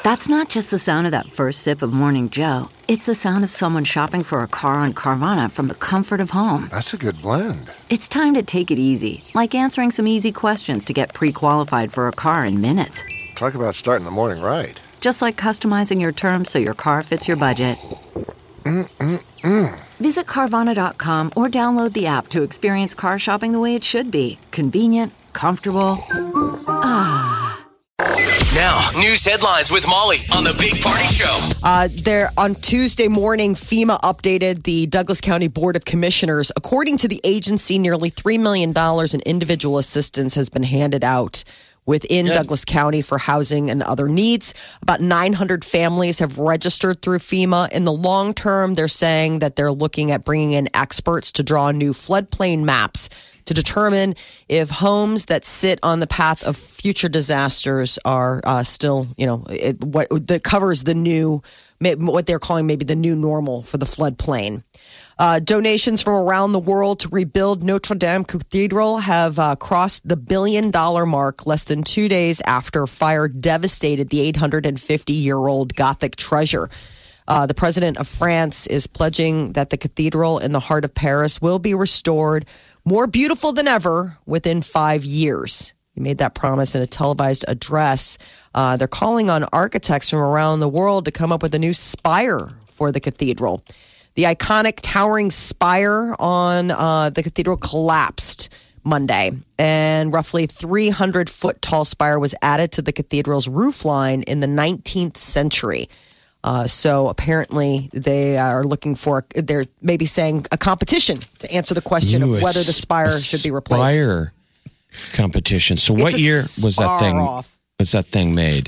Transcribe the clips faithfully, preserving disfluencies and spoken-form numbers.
That's not just the sound of that first sip of Morning Joe. It's the sound of someone shopping for a car on Carvana from the comfort of home. That's a good blend. It's time to take it easy, like answering some easy questions to get pre-qualified for a car in minutes. Talk about starting the morning right. Just like customizing your terms so your car fits your budget. Mm-mm-mm. Visit Carvana dot com or download the app to experience car shopping the way it should be. Convenient, comfortable. Ah. Now, news headlines with Molly on the Big Party Show. Uh, there on Tuesday morning, FEMA updated the Douglas County Board of Commissioners. According to the agency, nearly three million dollars in individual assistance has been handed out within Good. Douglas County for housing and other needs. About nine hundred families have registered through FEMA. In the long term, they're saying that they're looking at bringing in experts to draw new floodplain maps to determine if homes that sit on the path of future disasters are uh, still, you know, it, what that covers the new, what they're calling maybe the new normal for the floodplain. Uh, donations from around the world to rebuild Notre Dame Cathedral have uh, crossed the billion dollar mark less than two days after fire devastated the eight hundred fifty year old Gothic treasure. Uh, the president of France is pledging that the cathedral in the heart of Paris will be restored more beautiful than ever within five years. He made that promise in a televised address. Uh, they're calling on architects from around the world to come up with a new spire for the cathedral. The iconic towering spire on uh, the cathedral collapsed Monday, and roughly three hundred foot tall spire was added to the cathedral's roof line in the nineteenth century. Uh, so apparently they are looking for, they're maybe saying a competition to answer the question Ooh, of whether the spire should be replaced. Spire competition. So what year was that thing? Off. Was that thing made?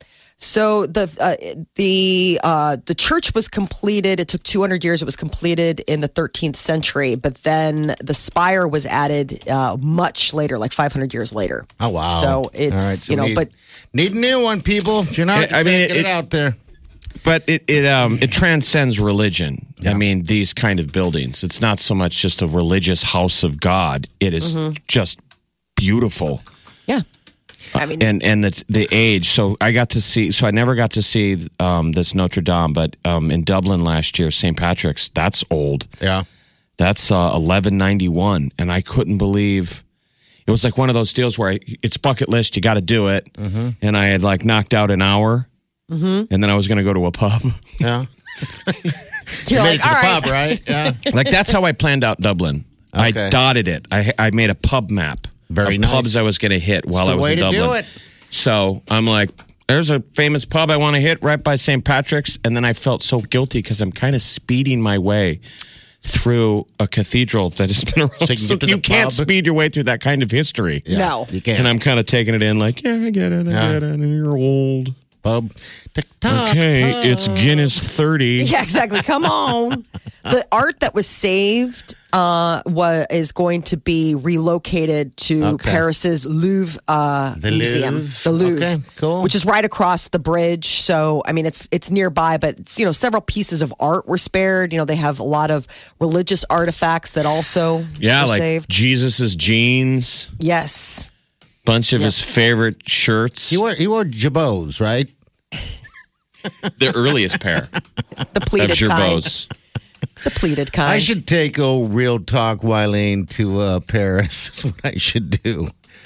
So the uh, the uh, the church was completed. It took two hundred years. It was completed in the thirteenth century, but then the spire was added uh, much later, like five hundred years later. Oh wow! So it's All right, so you know, need, but need a new one, people. You're not. I mean, get it, it out there. But it it um it transcends religion. Yeah. I mean, these kind of buildings. It's not so much just a religious house of God. It is Mm-hmm. just beautiful. yeah. I mean, and and the the age. So I got to see. So I never got to see um, this Notre Dame, but um, in Dublin last year, Saint Patrick's. That's old. Yeah, that's uh, eleven ninety one, and I couldn't believe it was like one of those deals where I, it's bucket list. You got to do it, mm-hmm. and I had like knocked out an hour, mm-hmm. and then I was going to go to a pub. Yeah, you're you like, made it to all the right. pub, right? Yeah, like that's how I planned out Dublin. Okay. I dotted it. I I made a pub map. Very of nice. Pubs I was going to hit while It's the I was way in to Dublin. do it. So I'm like, there's a famous pub I want to hit right by Saint Patrick's. And then I felt so guilty because I'm kind of speeding my way through a cathedral that has been around. So you can So get to you the can't pub? speed your way through that kind of history. Yeah, No. you can't. And I'm kind of taking it in like, yeah, I get it. I Yeah. get it. And you're old. pub. Tick-tock, Okay, pub. it's Guinness thirty. Yeah, exactly. Come on. The art that was saved uh, was, is going to be relocated to Okay. Paris's Louvre uh, The Museum, Louvre. the Louvre, Okay, cool. which is right across the bridge. So, I mean, it's it's nearby, but it's, you know, several pieces of art were spared. You know, they have a lot of religious artifacts that also Yeah, were like saved. Jesus's jeans, Yes. bunch of his favorite shirts, You wore you wore jabots, right? the earliest pair The of pleated kind. gerbots. The pleated kind. I should take old Real Talk Wileen to uh, Paris. That's what I should do.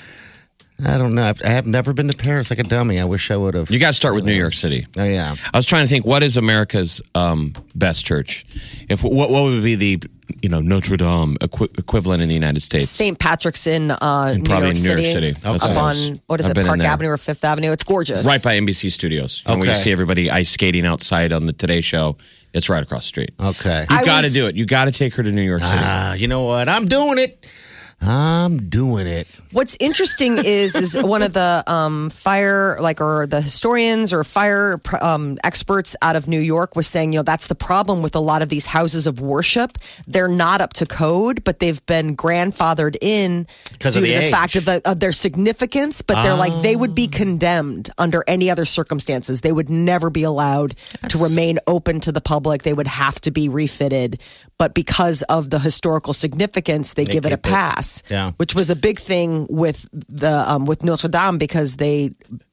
I don't know. I've, I have never been to Paris like a dummy. I wish I would have. You got to start with New York City. Oh, yeah. I was trying to think, what is America's um, best church? If what, what would be the you know Notre Dame equi- equivalent in the United States? Saint Patrick's in uh, And New probably York in New York City. City. That's Up what it on, is. what is I've it, been in Park there. Avenue or Fifth Avenue? It's gorgeous. Right by N B C Studios. And when you Okay. see everybody ice skating outside on the Today Show, it's right across the street. Okay. You I got to was- do it. You got to take her to New York City. Ah, you know what? I'm doing it. I'm doing it. What's interesting is is one of the um, fire like or the historians or fire um, experts out of New York was saying, you know, that's the problem with a lot of these houses of worship. They're not up to code, but they've been grandfathered in Because due of to the the age. fact of, the, of their significance. But they're like they would be condemned under any other circumstances. They would never be allowed to remain open to the public. They would have to be refitted. But because of the historical significance, they, They give it a keep it. pass. Yeah. Which was a big thing with the um, with Notre Dame because they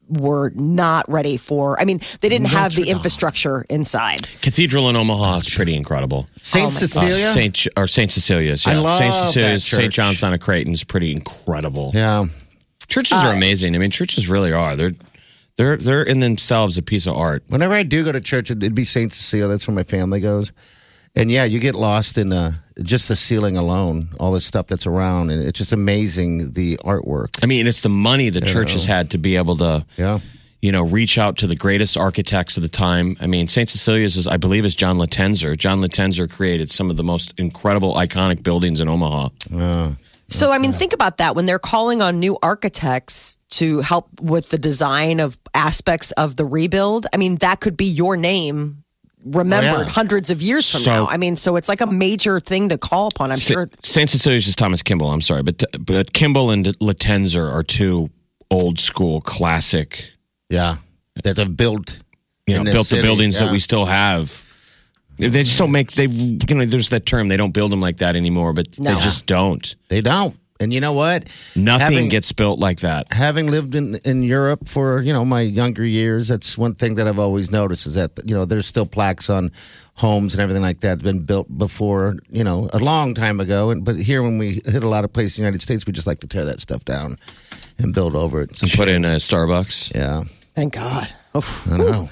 were not ready for. I mean, they didn't have the infrastructure inside. Cathedral in Omaha is pretty incredible. Saint Cecilia? Uh, Saint or Saint Cecilia's. Yeah. I love Saint Cecilia's, that church. Saint John's on a Creighton is pretty incredible. Yeah. Churches are amazing. I mean, churches really are. They're they're they're in themselves a piece of art. Whenever I do go to church, it'd be Saint Cecilia. That's where my family goes. And yeah, you get lost in uh, just the ceiling alone, all the stuff that's around. And it's just amazing, the artwork. I mean, it's the money the church has had to be able to, Yeah. you know, reach out to the greatest architects of the time. I mean, Saint Cecilia's is, I believe, is John Latenzer. John Latenzer created some of the most incredible, iconic buildings in Omaha. Uh, So, I mean, think about that. When they're calling on new architects to help with the design of aspects of the rebuild, I mean, that could be your name remembered Oh, yeah. hundreds of years from So- now. I mean, so it's like a major thing to call upon. I'm Sa- sure. Saint Cecilia's is Thomas Kimball. I'm sorry, but but Kimball and Latenzer are two old school classic. yeah. That have built, You know, in this built the city, buildings that yeah. we still have. They just don't make they. You know, there's that term. They don't build them like that anymore, but No. they just don't. They don't. And you know what? Nothing Having- gets built like that. Having lived in, in Europe for, you know, my younger years, that's one thing that I've always noticed is that, you know, there's still plaques on homes and everything like that been built before, you know, a long time ago. And But here, when we hit a lot of places in the United States, we just like to tear that stuff down and build over it. And put in a Starbucks. Yeah. Thank God. Oof. I know.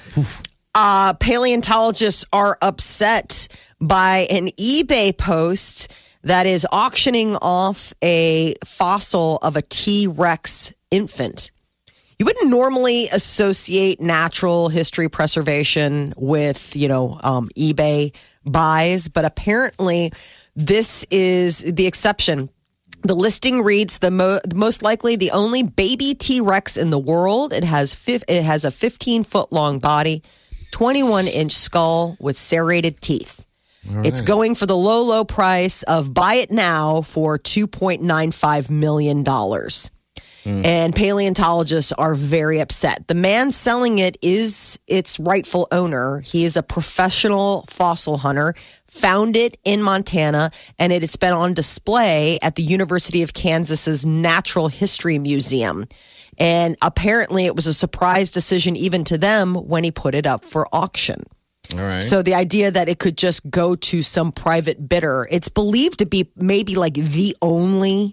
Uh, paleontologists are upset by an eBay post that is auctioning off a fossil of a T-Rex infant. You wouldn't normally associate natural history preservation with, you know, um, eBay buys, but apparently this is the exception. The listing reads the mo- most likely the only baby T-Rex in the world. It has fif- it has a fifteen foot long body, twenty-one inch skull with serrated teeth. It's going for the low, low price of buy it now for two point nine five million dollars. And paleontologists are very upset. The man selling it is its rightful owner. He is a professional fossil hunter, found it in Montana, and it, it's been on display at the University of Kansas's Natural History Museum. And apparently it was a surprise decision even to them when he put it up for auction. All right. So the idea that it could just go to some private bidder, it's believed to be maybe like the only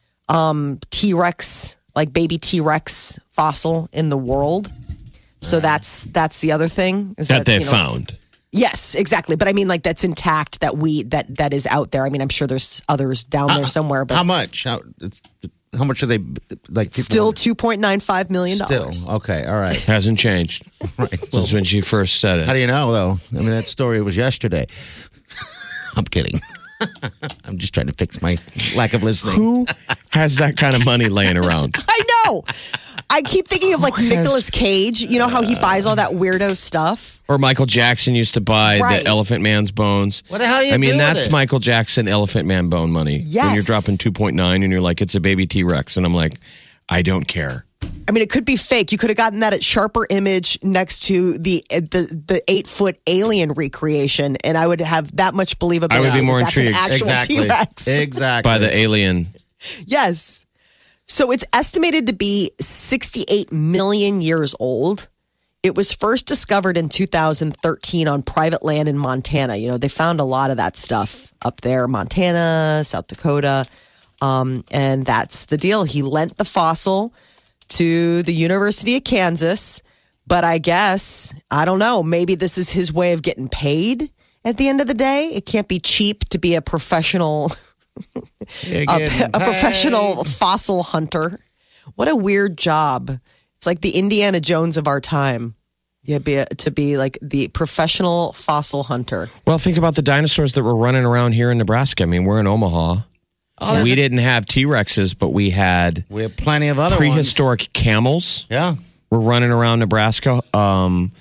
um, T-Rex, like baby T-Rex fossil in the world. So that's that's the other thing is That they you know, found. Yes, exactly. But I mean, like that's intact. That we that that is out there. I mean, I'm sure there's others down there somewhere. But How much? How, it's, how much are they, like, people still two point nine five million Still. dollars. Okay. All right. Hasn't changed. Right. Since when she first said How it. do you know, though? I mean, that story was yesterday. I'm kidding. I'm just trying to fix my lack of listening. Who has that kind of money laying around? I know. I keep thinking of like Nicolas Cage. You know how he buys all that weirdo stuff? Or Michael Jackson used to buy Right. the Elephant Man's bones. What the hell do you I mean, do with that's it? Michael Jackson Elephant Man bone money. When Yes. you're dropping two point nine and you're like, it's a baby T-Rex. And I'm like, I don't care. I mean, it could be fake. You could have gotten that at Sharper Image next to the the, the eight foot alien recreation, and I would have that much believability. I would be more that that's intrigued. An actual Exactly. T-Rex. Exactly. By the alien. Yes. So it's estimated to be sixty-eight million years old. It was first discovered in two thousand thirteen on private land in Montana. You know, they found a lot of that stuff up there, Montana, South Dakota. Um, and that's the deal. He lent the fossil to the University of Kansas. But I guess, I don't know, maybe this is his way of getting paid at the end of the day. It can't be cheap to be a professional You're a, getting a paid. professional fossil hunter. What a weird job. It's like the Indiana Jones of our time. Yeah, be a, to be like the professional fossil hunter. Well, think about the dinosaurs that were running around here in Nebraska. I mean, we're in Omaha. Oh, we didn't have T-Rexes, but we had We have plenty of other prehistoric camels. ones. Yeah. Were running around Nebraska. Um,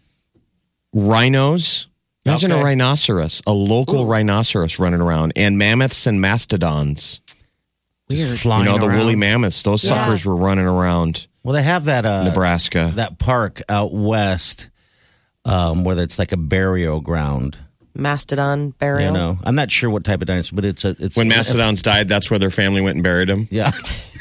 rhinos. Imagine Okay. a rhinoceros, a local rhinoceros running around, and mammoths and mastodons. Weird. You know, the woolly mammoths. Those Yeah. suckers were running around Well, they have that uh, Nebraska. that park out west um, where it's like a burial ground. Mastodon burial. You know, I'm not sure what type of dinosaur, but it's a it's When mastodons died, that's where their family went and buried them. Yeah.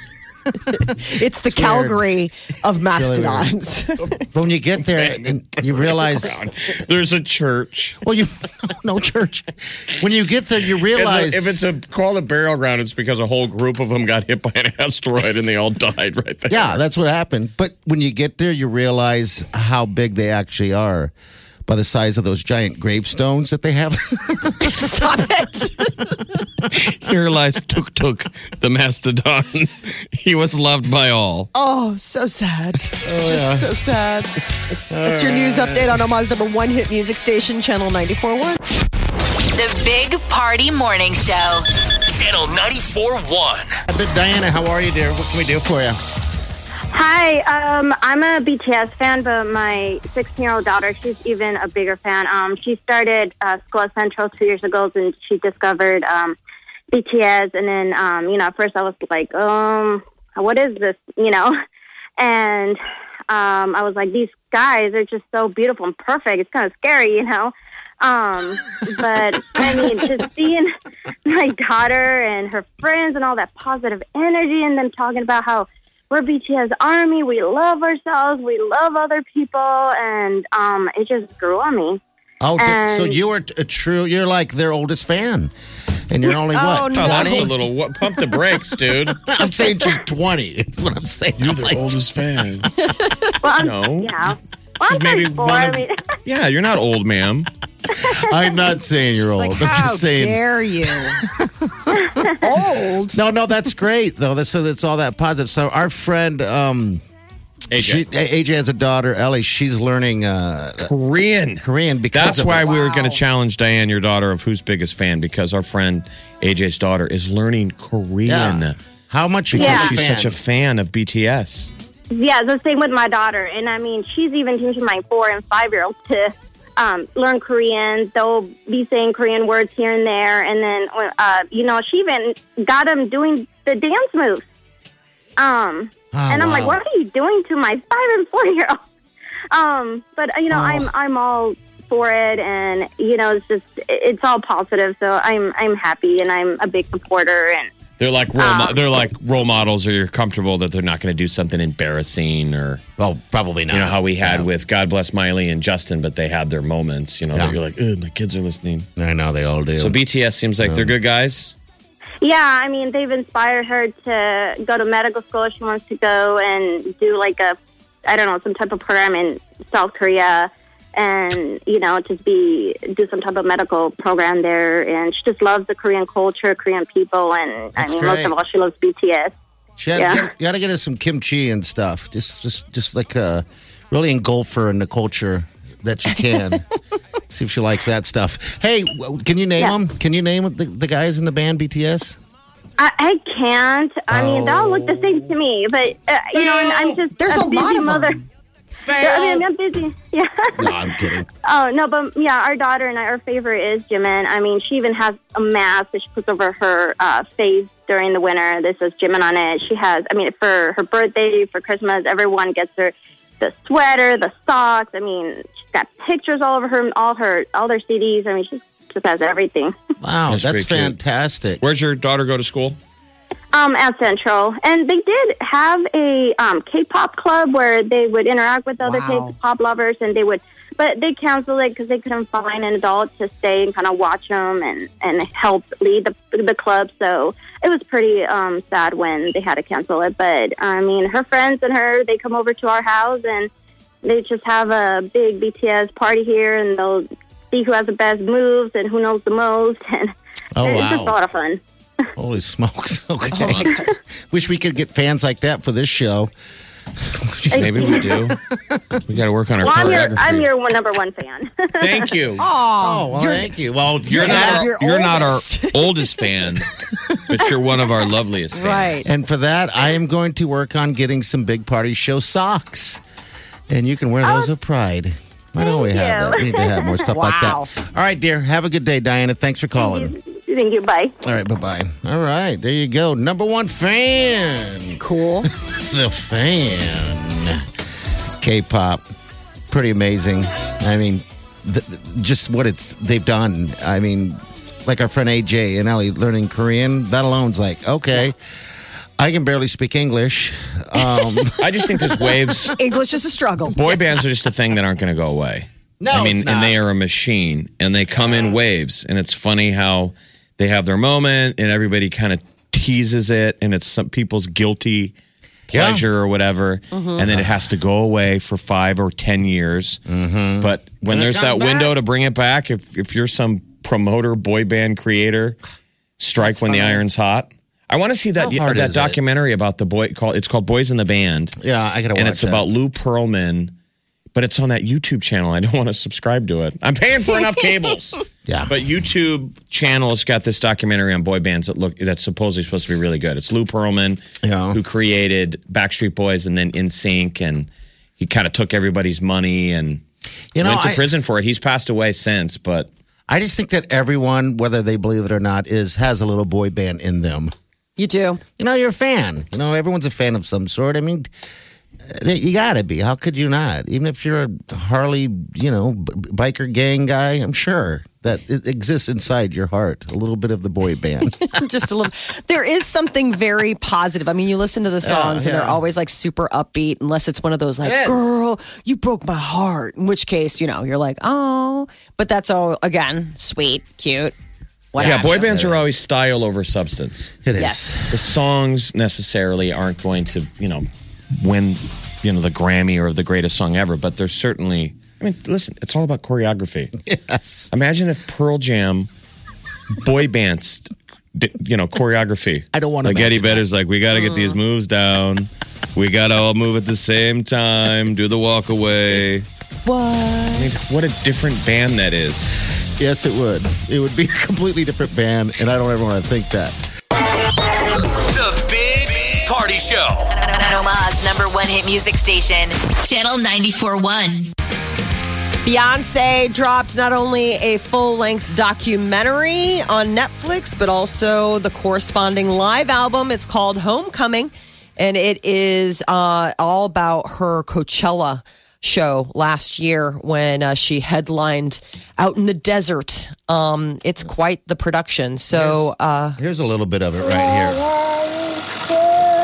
It's the Calgary of mastodons. But when you get there and you realize there's a church. Well, you no church. When you get there, you realize It's a, if it's a called a burial ground, it's because a whole group of them got hit by an asteroid and they all died right there. Yeah, that's what happened. But when you get there, you realize how big they actually are by the size of those giant gravestones that they have. Stop it. Here lies Tuk Tuk, the mastodon. He was loved by all. Oh, so sad. Just so sad. That's your news update on Omaha's number one hit music station, Channel ninety-four point one. The Big Party Morning Show. Channel ninety-four point one. Diana, how are you, dear? What can we do for you? Hi, um, I'm a B T S fan, but my sixteen-year-old daughter, she's even a bigger fan. Um, she started uh, School at Central two years ago, and she discovered um, B T S. And then, um, you know, at first I was like, um, what is this, you know? And um, I was like, these guys are just so beautiful and perfect. It's kind of scary, you know? Um, but, I mean, just seeing my daughter and her friends and all that positive energy and them talking about how we're B T S Army. We love ourselves. We love other people. And um, it just grew on me. Oh, And- so you are a true, you're like their oldest fan. And you're only what? Oh, no. Oh, that's a twenty? little. What, pump the brakes, dude. I'm saying she's twenty. Is what I'm saying. You're I'm the like, oldest fan. Well, I'm, No. Yeah. Well, I'm Maybe thirty-four. one I of- mean, Yeah, you're not old, ma'am. I'm not saying you're It's old. like, I'm how just saying. dare you? Old. No, no, that's great though. That's so that's all that positive. So our friend, um, A J. she, A J has a daughter, Ellie. She's learning uh, Korean. Korean because That's of why it. we were going to challenge Diane, your daughter, of who's biggest fan, because our friend A J's daughter is learning Korean. Yeah. How much? Because Yeah. she's such a fan of B T S. yeah, the same with my daughter. And I mean, she's even teaching my four and five-year-olds to um, learn Korean. They'll be saying Korean words here and there. And then, uh, you know, she even got them doing the dance moves. Um, Oh, and I'm wow. like, what are you doing to my five and four-year-old? Um, but, you know, Oh. I'm I'm all for it. And, you know, it's just, it's all positive. So I'm, I'm happy and I'm a big supporter. And They're like role, mo- Um, they're like role models, or you're comfortable that they're not going to do something embarrassing, or Well, probably not. you know how we had Yeah. with God bless Miley and Justin, but they had their moments. You know, Yeah. that you're like, oh, my kids are listening. I know they all do. So B T S seems like they're good guys. yeah, I mean, they've inspired her to go to medical school. She wants to go and do like a, I don't know, some type of program in South Korea and, you know, just be, do some type of medical program there. And she just loves the Korean culture, Korean people. And That's I mean, great. most of all, she loves B T S. She had Yeah. to get, you got to get her some kimchi and stuff. Just, just, just like uh, really engulf her in the culture that you can. See if she likes that stuff. Hey, w- can you name Yeah. them? Can you name the, the guys in the band B T S? I, I can't. I mean, they all look the same to me. But, uh, you know, and I'm just There's a, a lot busy of mother. them. Yeah, I mean, I'm busy. Yeah. No, I'm kidding. Oh, no, but yeah, our daughter and I, our favorite is Jimin. I mean, she even has a mask that she puts over her uh, face during the winter. This says Jimin on it. She has, I mean, for her birthday, for Christmas, everyone gets her the sweater, the socks. I mean, she's got pictures all over her, all her, all their C Ds. I mean, she just has everything. Wow, That's that's, pretty cute. fantastic. Where's your daughter go to school? Um, at Central. And they did have a um, K-pop club where they would interact with other Wow. K-pop lovers, and they would, but they canceled it because they couldn't find an adult to stay and kind of watch them and, and help lead the the club. So it was pretty um, sad when they had to cancel it. But, I mean, her friends and her, they come over to our house, and they just have a big B T S party here, and they'll see who has the best moves and who knows the most. And Oh, it's wow. just a lot of fun. Holy smokes. Okay. Wish we could get fans like that for this show. Maybe we do. We got to work on our Well, I'm your, choreography. I'm your one, number one fan. Thank you. Oh, well, thank you. Well, You're you're not not. our, You're you're not our oldest. oldest fan, but you're one of our loveliest fans. Right. And for that, I am going to work on getting some Big Party Show socks. And you can wear those with pride. Why don't we Thank have you. that? We need to have more stuff like Wow. that. All right, dear. Have a good day, Diana. Thanks for calling. Thank you. Bye. All right, bye-bye. All right, there you go. Number one fan. Cool. The fan. K-pop. Pretty amazing. I mean, th- th- just what it's they've done. I mean, like our friend A J and Ellie learning Korean, that alone's like, okay. I can barely speak English. Um, I just think there's waves. English is a struggle. Boy bands are just a thing that aren't going to go away. No, I mean, it's not. and they are a machine, and they come in waves, and it's funny how they have their moment, and everybody kind of teases it, and it's some people's guilty pleasure Yeah. or whatever, Mm-hmm. and then it has to go away for five or ten years. Mm-hmm. But when And it there's that comes window back. to bring it back, if if you're some promoter, boy band creator, strike when the iron's hot. I want to see that How hard that is it? documentary about the boy called it's called Boys in the Band. Yeah, I gotta watch And it's that. about Lou Pearlman, but it's on that YouTube channel. I don't want to subscribe to it. I'm paying for enough cables. Yeah. But YouTube channel's got this documentary on boy bands that look that's supposedly supposed to be really good. It's Lou Pearlman, Yeah. who created Backstreet Boys and then N Sync, and he kind of took everybody's money and You know, went to I- prison for it. He's passed away since, but I just think that everyone, whether they believe it or not, is has a little boy band in them. You do. You know, you're a fan. You know, everyone's a fan of some sort. I mean, uh, you got to be. How could you not? Even if you're a Harley, you know, b- biker gang guy, I'm sure that it exists inside your heart. A little bit of the boy band. Just a little. There is something very positive. I mean, you listen to the songs and they're yeah. always like super upbeat, unless it's one of those like, It is. girl, you broke my heart. In which case, you know, you're like, oh, but that's all, again, sweet, cute. What yeah, have boy you. bands are always style over substance. It is. Yes. The songs necessarily aren't going to, you know, win, you know, the Grammy or the greatest song ever, but there's certainly, I mean, listen, it's all about choreography. Yes. Imagine if Pearl Jam boy bands, did, you know, choreography. I don't wanna Like Eddie imagine that. Vedder's like, we got to get these moves down. We got to all move at the same time, do the walk away. What? I mean, what a different band that is. Yes, it would. It would be a completely different band, and I don't ever want to think that. The Big Party Show. Omaha's number one hit music station, Channel ninety-four point one. Beyonce dropped not only a full-length documentary on Netflix, but also the corresponding live album. It's called Homecoming, and it is uh, all about her Coachella show last year when uh, she headlined out in the desert. Um, it's quite the production. So uh, Here's a little bit of it right here.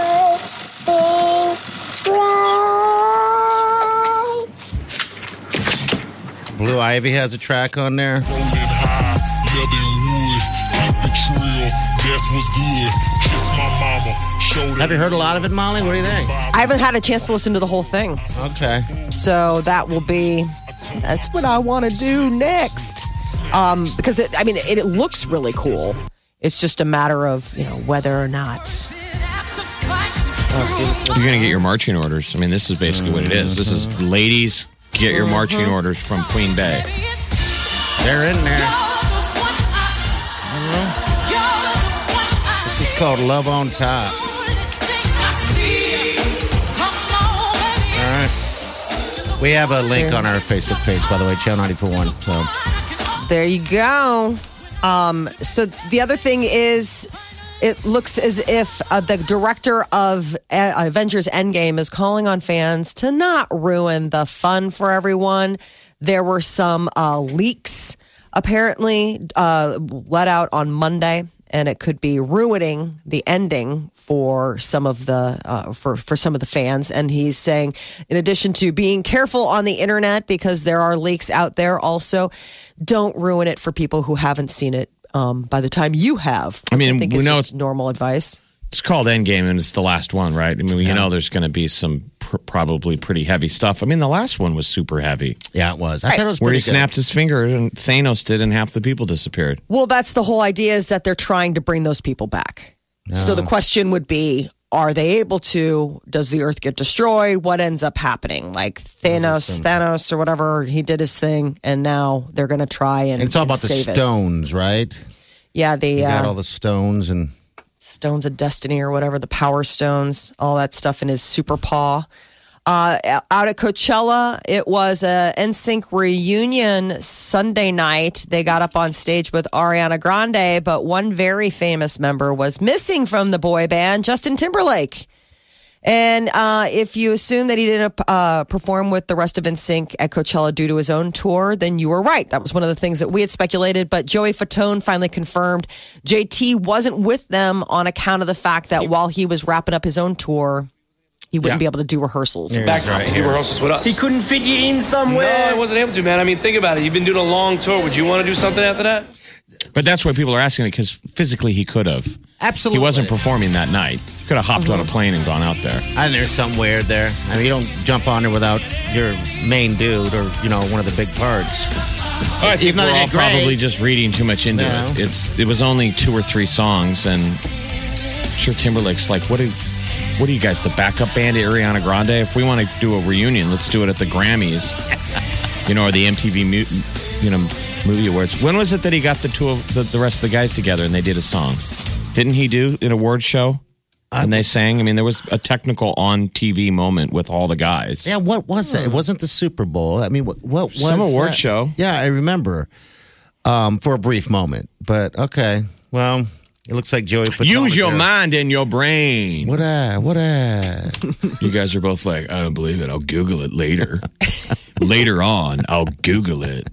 Blue Ivy has a track on there. Rolling high, Melvin Wood, keep it trill, that's what's good. Kiss my mama, show that. Have you heard a lot of it, Molly? What do you think? I haven't had a chance to listen to the whole thing. Okay. So that will be, that's what I want to do next. Um, because it, I mean, it, it looks really cool. It's just a matter of, you know, whether or not. Oh, see, this, this, You're going to get your marching orders. I mean, this is basically what it is. This is ladies, get your marching orders from Queen Bey. They're in there. This is called Love on Top. All right. We have a link on our Facebook page, by the way, Channel ninety-four point one. So there you go. Um, so the other thing is, it looks as if uh, the director of uh, Avengers Endgame is calling on fans to not ruin the fun for everyone. There were some uh, leaks apparently uh, let out on Monday, and it could be ruining the ending for some of the uh, for for some of the fans. And he's saying, in addition to being careful on the internet because there are leaks out there, also don't ruin it for people who haven't seen it. Um, by the time you have, I mean, I think we is know just it's- normal advice. It's called Endgame, and it's the last one, right? I mean, you know there's going to be some pr- probably pretty heavy stuff. I mean, the last one was super heavy, yeah, it was. I thought it was where he pretty good. snapped his finger and Thanos did, and half the people disappeared. Well, that's the whole idea, is that they're trying to bring those people back. So the question would be, are they able to? Does the Earth get destroyed? What ends up happening? Like Thanos, Thanos or whatever, he did his thing, and now they're going to try and, And it's all and about the save it. stones, right? Yeah, the You got uh, all the stones and Stones of Destiny or whatever, the Power Stones, all that stuff in his super paw. Uh, out at Coachella, it was a N Sync reunion Sunday night. They got up on stage with Ariana Grande, but one very famous member was missing from the boy band, Justin Timberlake. And uh, if you assume that he didn't uh, perform with the rest of N Sync at Coachella due to his own tour, then you were right. That was one of the things that we had speculated. But Joey Fatone finally confirmed J T wasn't with them on account of the fact that while he was wrapping up his own tour, he wouldn't Yeah. be able to do rehearsals. Back right to do rehearsals with us. He couldn't fit you in somewhere. No, I wasn't able to, man. I mean, think about it. You've been doing a long tour. Would you want to do something after that? But that's why people are asking it because physically he could have. Absolutely. He wasn't performing that night. He could have hopped on a plane and gone out there. I think there's something weird there. I mean, you don't jump on there without your main dude or, you know, one of the big parts. I think Even though we're they all did great. probably just reading too much into No. it. It's It was only two or three songs, and I'm sure Timberlake's like, what do, what are you guys, the backup band to Ariana Grande? If we want to do a reunion, let's do it at the Grammys, you know, or the M T V mu- you know, Movie Awards. When was it that he got the two of the, the rest of the guys together and they did a song? Didn't he do an award show? And they sang. I mean, there was a technical on T V moment with all the guys. Yeah, what was that? It wasn't the Super Bowl. I mean, what, what was Some award that? show. Yeah, I remember um, for a brief moment. But okay, well, it looks like Joey Fatone Use was your there. mind and your brain. What a, what a. You guys are both like, I don't believe it. I'll Google it later. Later on, I'll Google it.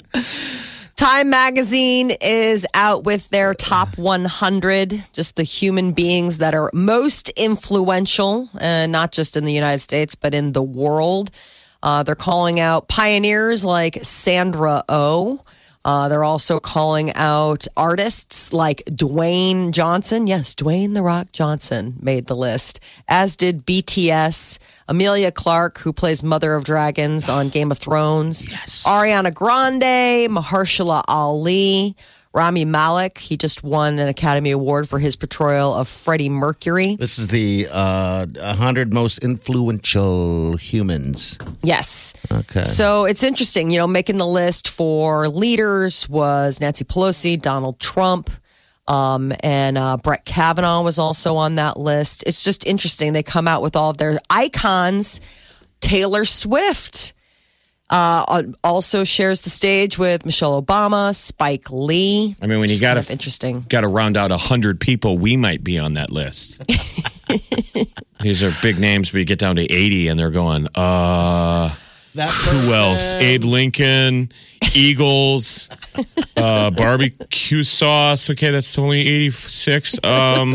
Time Magazine is out with their top one hundred, just the human beings that are most influential, uh, not just in the United States, but in the world. Uh, they're calling out pioneers like Sandra Oh. Uh, they're also calling out artists like Dwayne Johnson. Yes, Dwayne "The Rock" Johnson made the list, as did B T S, Emilia Clarke, who plays Mother of Dragons on Game of Thrones, yes. Ariana Grande, Mahershala Ali, Rami Malek. He just won an Academy Award for his portrayal of Freddie Mercury. This is the uh, one hundred most influential humans. Yes. Okay. So it's interesting, you know, making the list for leaders was Nancy Pelosi, Donald Trump, um, and uh, Brett Kavanaugh was also on that list. It's just interesting. They come out with all of their icons. Taylor Swift uh, also shares the stage with Michelle Obama, Spike Lee. I mean, when you Just got kind to of interesting. got to round out a hundred people, we might be on that list. These are big names, but you get down to eighty, and they're going, uh, who else? Abe Lincoln, Eagles, uh, barbecue sauce. Okay, that's only eighty-six. Um,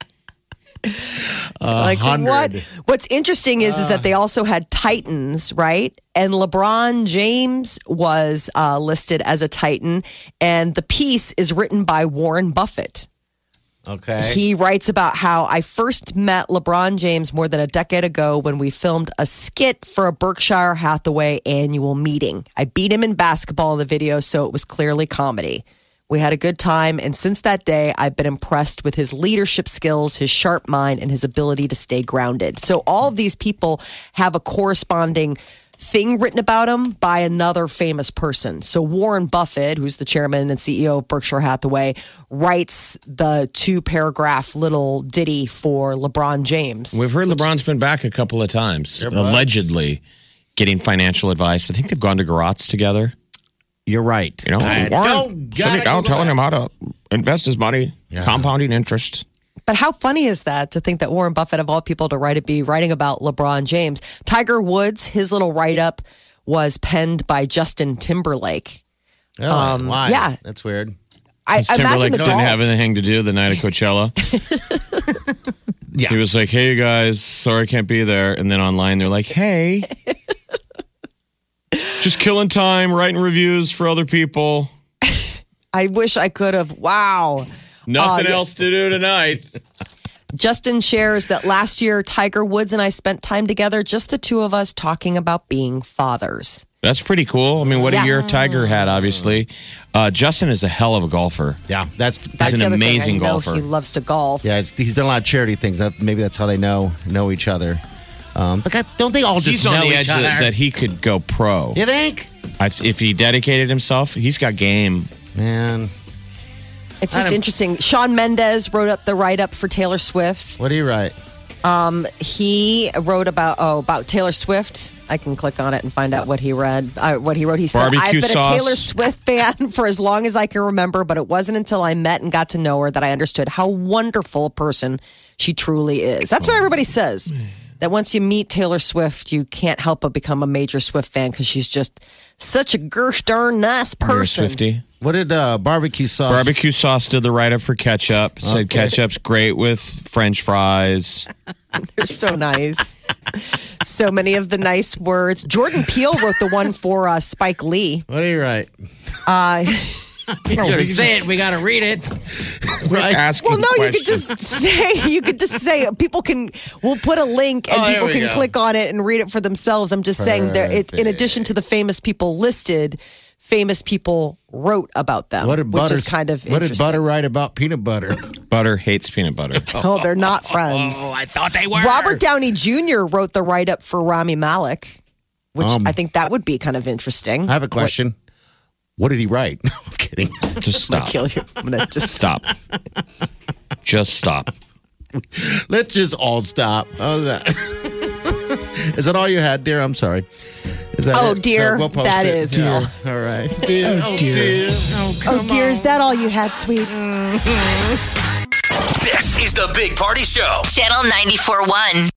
like what? What's interesting is, is that they also had Titans, right? And LeBron James was uh, listed as a Titan, and the piece is written by Warren Buffett. Okay. He writes about how I first met LeBron James more than a decade ago when we filmed a skit for a Berkshire Hathaway annual meeting. I beat him in basketball in the video, so it was clearly comedy. We had a good time, and since that day, I've been impressed with his leadership skills, his sharp mind, and his ability to stay grounded. So all of these people have a corresponding thing written about him by another famous person. So Warren Buffett, who's the chairman and C E O of Berkshire Hathaway, writes the two-paragraph little ditty for LeBron James. we've heard LeBron's been back a couple of times, allegedly getting financial advice. I think they've gone to Garotz together. You're right. You know, I Warren don't sitting gotta down Google telling that. him how to invest his money, Yeah. compounding interest. But how funny is that to think that Warren Buffett, of all people, to write it, be writing about LeBron James? Tiger Woods, his little write-up was penned by Justin Timberlake. Oh, Um, why? yeah. That's weird. I, Since I imagine Timberlake the didn't golf. have anything to do the night of Coachella. Yeah. He was like, hey, you guys, sorry I can't be there. And then online, they're like, hey, just killing time, writing reviews for other people. I wish I could have. Wow. Nothing Uh, yeah. else to do tonight. Justin shares that last year, Tiger Woods and I spent time together, just the two of us, talking about being fathers. That's pretty cool. I mean, what Yeah. a year Tiger had, obviously. Uh, Justin is a hell of a golfer. Yeah, that's That's an the other amazing thing. I know golfer. He loves to golf. yeah. It's, he's done a lot of charity things. That, maybe that's how they know know each other. Um, but God, don't they all just He's know on the each edge other? that, that he could go pro. You think? I, if he dedicated himself, he's got game. Man, It's I just don't- interesting. Sean Mendez wrote up the write-up for Taylor Swift. what do you write? Um, he wrote about oh about Taylor Swift. I can click on it and find out what he read. Uh, what he wrote. He said, Barbecue "I've been sauce. a Taylor Swift fan for as long as I can remember, but it wasn't until I met and got to know her that I understood how wonderful a person she truly is." That's what everybody says. That once you meet Taylor Swift, you can't help but become a major Swift fan because she's just such a gosh darn nice You're a person. Swiftie. What did uh, barbecue sauce? Barbecue sauce did the write up for ketchup. Said Okay. ketchup's great with French fries. They're so nice. So many of the nice words. Jordan Peele wrote the one for uh, Spike Lee. What do you write? Uh, You gotta say it. We got to read it. Right. Asking well, no, you could questions. just say, you could just say, people can, we'll put a link and Oh, here people we can go. click on it and read it for themselves. I'm just saying, there, it, in addition to the famous people listed, famous people wrote about them, What did which butter? is kind of What did interesting. butter write about peanut butter? Butter hates peanut butter. Oh, they're not friends. Oh, I thought they were. Robert Downey Junior wrote the write up for Rami Malek, which Um, I think that would be kind of interesting. I have a question. What, did he write? No, I'm kidding. Just I'm gonna stop. kill you. I'm gonna just Stop. Just stop. Let's just all stop. How's that? Is that all you had, dear? I'm sorry. Is that Oh, it? dear. So we'll post That it. is Dear. all. All right. Dear. Oh, dear. Oh, come Oh, dear, on. is that all you had, sweets? This is the Big Party Show. Channel ninety-four point one.